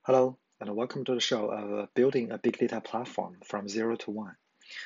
Hello, and welcome to the show of Building a Big Data Platform from Zero to One.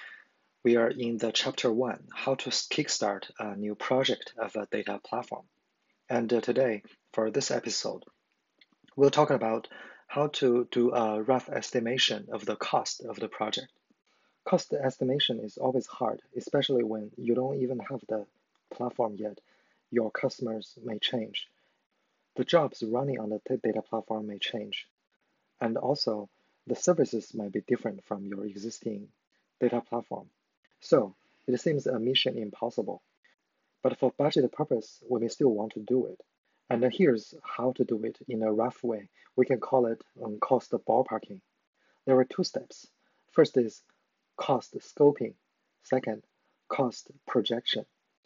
We are in the chapter 1, how to kickstart a new project of a data platform. And today, for this episode, we'll talk about how to do a rough estimation of the cost of the project. Cost estimation is always hard, especially when you don't even have the platform yet. Your customers may change. The jobs running on the data platform may change. And also, the services might be different from your existing data platform. So it seems a mission impossible. But for budget purpose, we may still want to do it. And here's how to do it in a rough way. We can call it cost ballparking. There are two steps. First is cost scoping. Second, cost projection.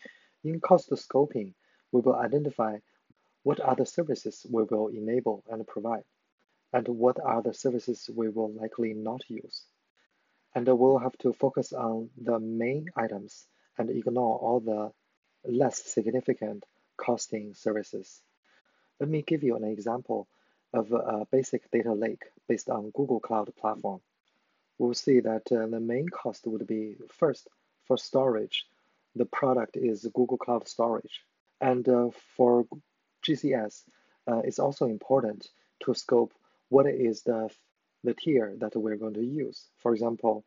In cost scoping, we will identify what are the services we will enable and provide, and what are the services we will likely not use. And we'll have to focus on the main items and ignore all the less significant costing services. Let me give you an example of a basic data lake based on Google Cloud Platform. We'll see that the main cost would be first for storage. The product is Google Cloud Storage. And for GCS, it's also important to scope what is the tier that we're going to use. For example,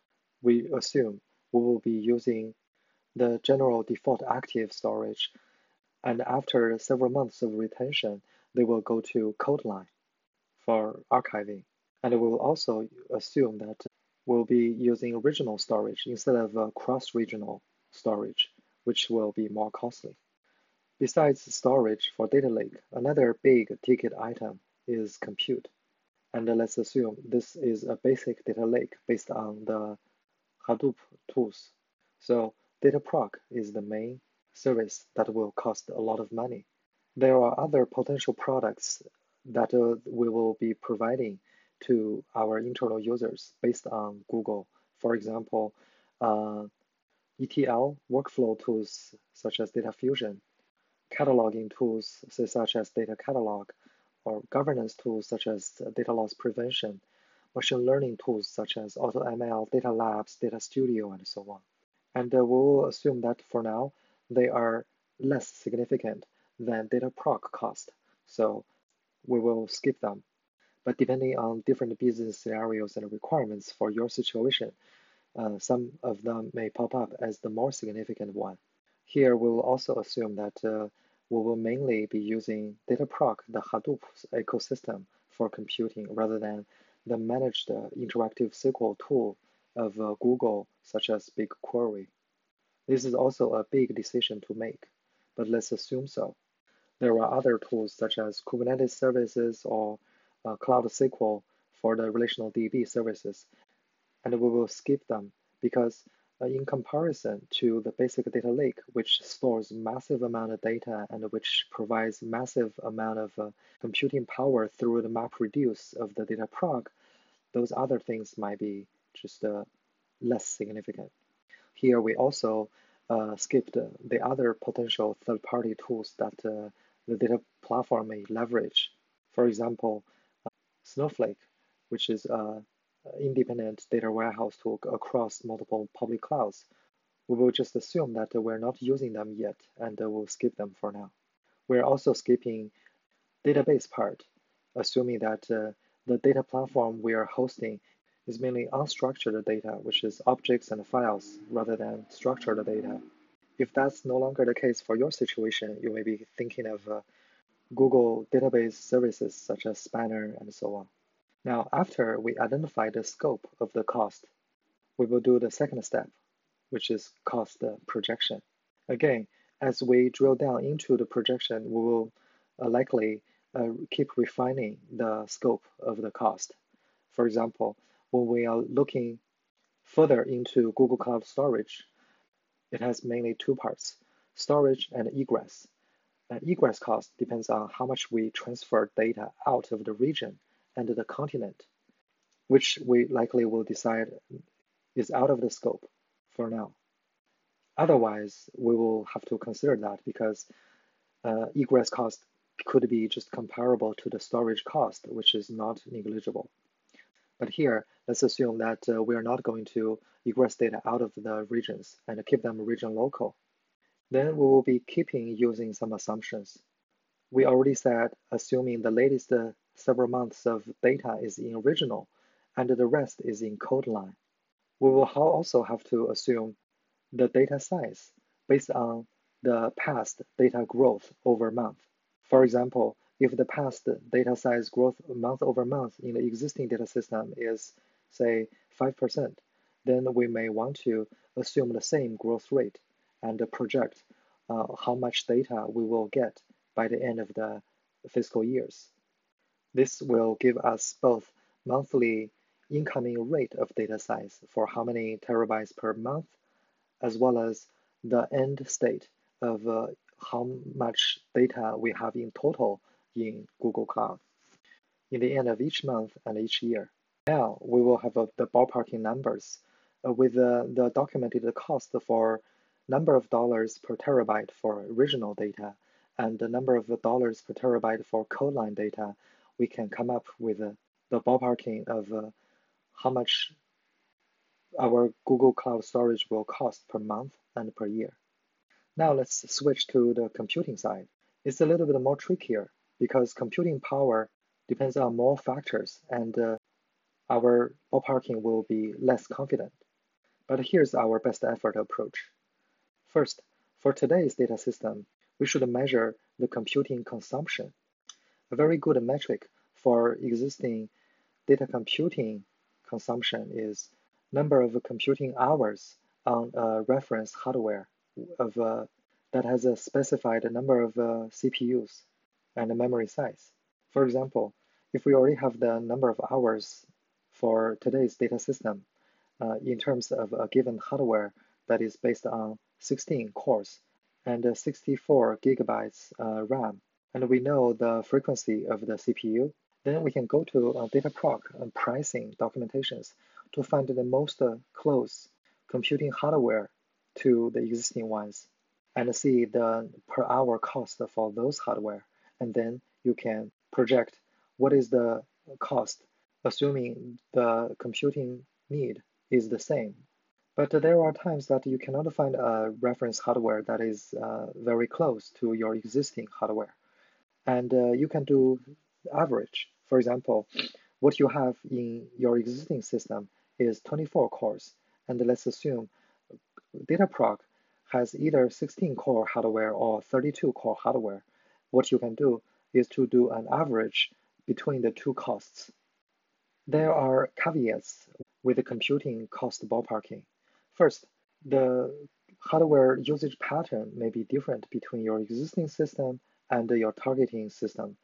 we assume we will be using the general default active storage, and after several months of retention, they will go to Codeline for archiving. And we will also assume that we'll be using regional storage instead of cross-regional storage, which will be more costly. Besides storage for data lake, another big ticket item is compute. And let's assume this is a basic data lake based on the Hadoop tools. So Dataproc is the main service that will cost a lot of money. There are other potential products that we will be providing to our internal users based on Google. For example, ETL workflow tools such as Data Fusion, cataloging tools such as Data Catalog, or governance tools such as data loss prevention, machine learning tools such as AutoML, Data Labs, Data Studio, and so on. And we'll assume that for now, they are less significant than Dataproc cost, so we will skip them. But depending on different business scenarios and requirements for your situation, some of them may pop up as the more significant one. Here, we will also assume that we will mainly be using Dataproc, the Hadoop ecosystem, for computing rather than the managed interactive SQL tool of Google, such as BigQuery. This is also a big decision to make, but let's assume so. There are other tools such as Kubernetes services or Cloud SQL for the relational DB services, and we will skip them because in comparison to the basic data lake, which stores massive amount of data and which provides massive amount of computing power through the MapReduce of the Dataproc, those other things might be just less significant. Here we also skipped the other potential third-party tools that the data platform may leverage. For example, Snowflake, which is an independent data warehouse tool across multiple public clouds. We will just assume that we're not using them yet, and we'll skip them for now. We're also skipping database part, assuming that the data platform we are hosting is mainly unstructured data, which is objects and files, rather than structured data. If that's no longer the case for your situation, you may be thinking of Google database services such as Spanner and so on. Now, after we identify the scope of the cost, we will do the second step, which is cost projection. Again, as we drill down into the projection, we will likely keep refining the scope of the cost. For example, when we are looking further into Google Cloud Storage, it has mainly two parts, storage and egress. Egress cost depends on how much we transfer data out of the region and the continent, which we likely will decide is out of the scope for now. Otherwise, we will have to consider that because egress cost could be just comparable to the storage cost, which is not negligible. But here, let's assume that we are not going to egress data out of the regions and keep them region local. Then we will be keeping using some assumptions. We already said assuming the latest several months of data is in regional and the rest is in code line. We will also have to assume the data size based on the past data growth over month. For example, if the past data size growth month over month in the existing data system is, say, 5%, then we may want to assume the same growth rate and project how much data we will get by the end of the fiscal years. This will give us both monthly incoming rate of data size for how many terabytes per month, as well as the end state of how much data we have in total in Google Cloud in the end of each month and each year. Now we will have the ballparking numbers with the documented cost for number of dollars per terabyte for original data and the number of dollars per terabyte for code line data. We can come up with the ballparking of how much our Google Cloud storage will cost per month and per year. Now let's switch to the computing side. It's a little bit more trickier because computing power depends on more factors and our ballparking will be less confident. But here's our best effort approach. First, for today's data system, we should measure the computing consumption. A very good metric for existing data computing consumption is number of computing hours on a reference hardware that has a specified number of CPUs and a memory size. For example, if we already have the number of hours for today's data system in terms of a given hardware that is based on 16 cores and 64 gigabytes RAM, and we know the frequency of the CPU, then we can go to Dataproc pricing documentations to find the most close computing hardware to the existing ones and see the per hour cost for those hardware. And then you can project what is the cost, assuming the computing need is the same. But there are times that you cannot find a reference hardware that is very close to your existing hardware. And you can do average. For example, what you have in your existing system is 24 cores. And let's assume Dataproc has either 16-core hardware or 32-core hardware. What you can do is to do an average between the two costs. There are caveats with the computing cost ballparking. First, the hardware usage pattern may be different between your existing system and your targeting system.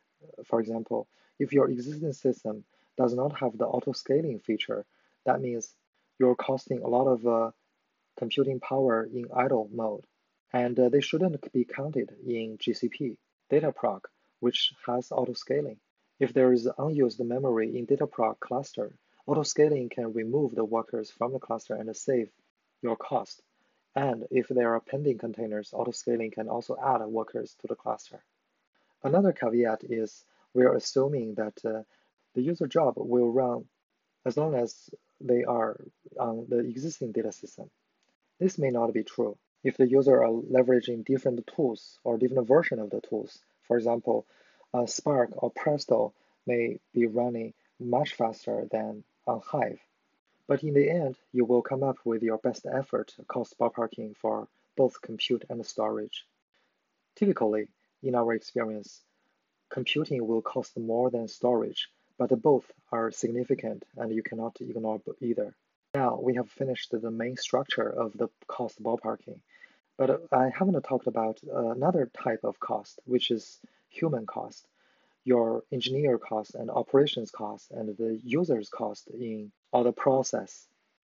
For example, if your existing system does not have the auto-scaling feature, that means you're costing a lot of computing power in idle mode, and they shouldn't be counted in GCP. Dataproc, which has auto-scaling. If there is unused memory in Dataproc cluster, auto-scaling can remove the workers from the cluster and save your cost. And if there are pending containers, auto-scaling can also add workers to the cluster. Another caveat is we're assuming that the user job will run as long as they are on the existing data system. This may not be true. If the user are leveraging different tools or different version of the tools, for example, Spark or Presto may be running much faster than on Hive. But in the end, you will come up with your best effort cost ballparking for both compute and storage. Typically, in our experience, computing will cost more than storage, but both are significant and you cannot ignore either. Now we have finished the main structure of the cost ballparking, but I haven't talked about another type of cost, which is human cost, your engineer cost and operations cost and the user's cost in all the process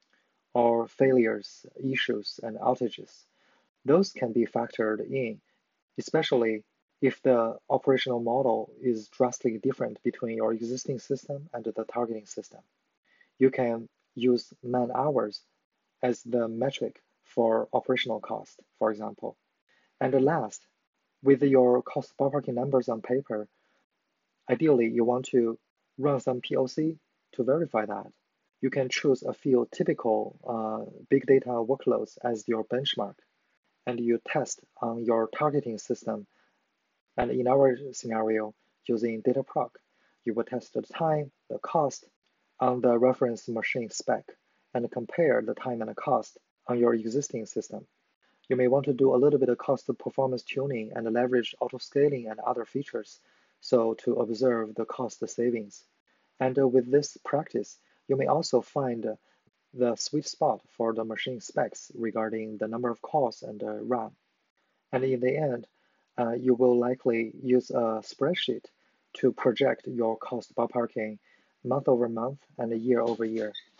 or failures, issues, and outages. Those can be factored in, especially if the operational model is drastically different between your existing system and the targeting system. You can use man hours as the metric for operational cost, for example. And last, With your cost ballparking numbers on paper, ideally you want to run some POC to verify that. You can choose a few typical big data workloads as your benchmark, and you test on your targeting system. And in our scenario, using Dataproc, you will test the time, the cost on the reference machine spec, and compare the time and the cost on your existing system. You may want to do a little bit of cost performance tuning and leverage auto-scaling and other features, so to observe the cost savings. And with this practice, you may also find the sweet spot for the machine specs regarding the number of cores and the RAM. And in the end, you will likely use a spreadsheet to project your cost ballparking month over month and year over year.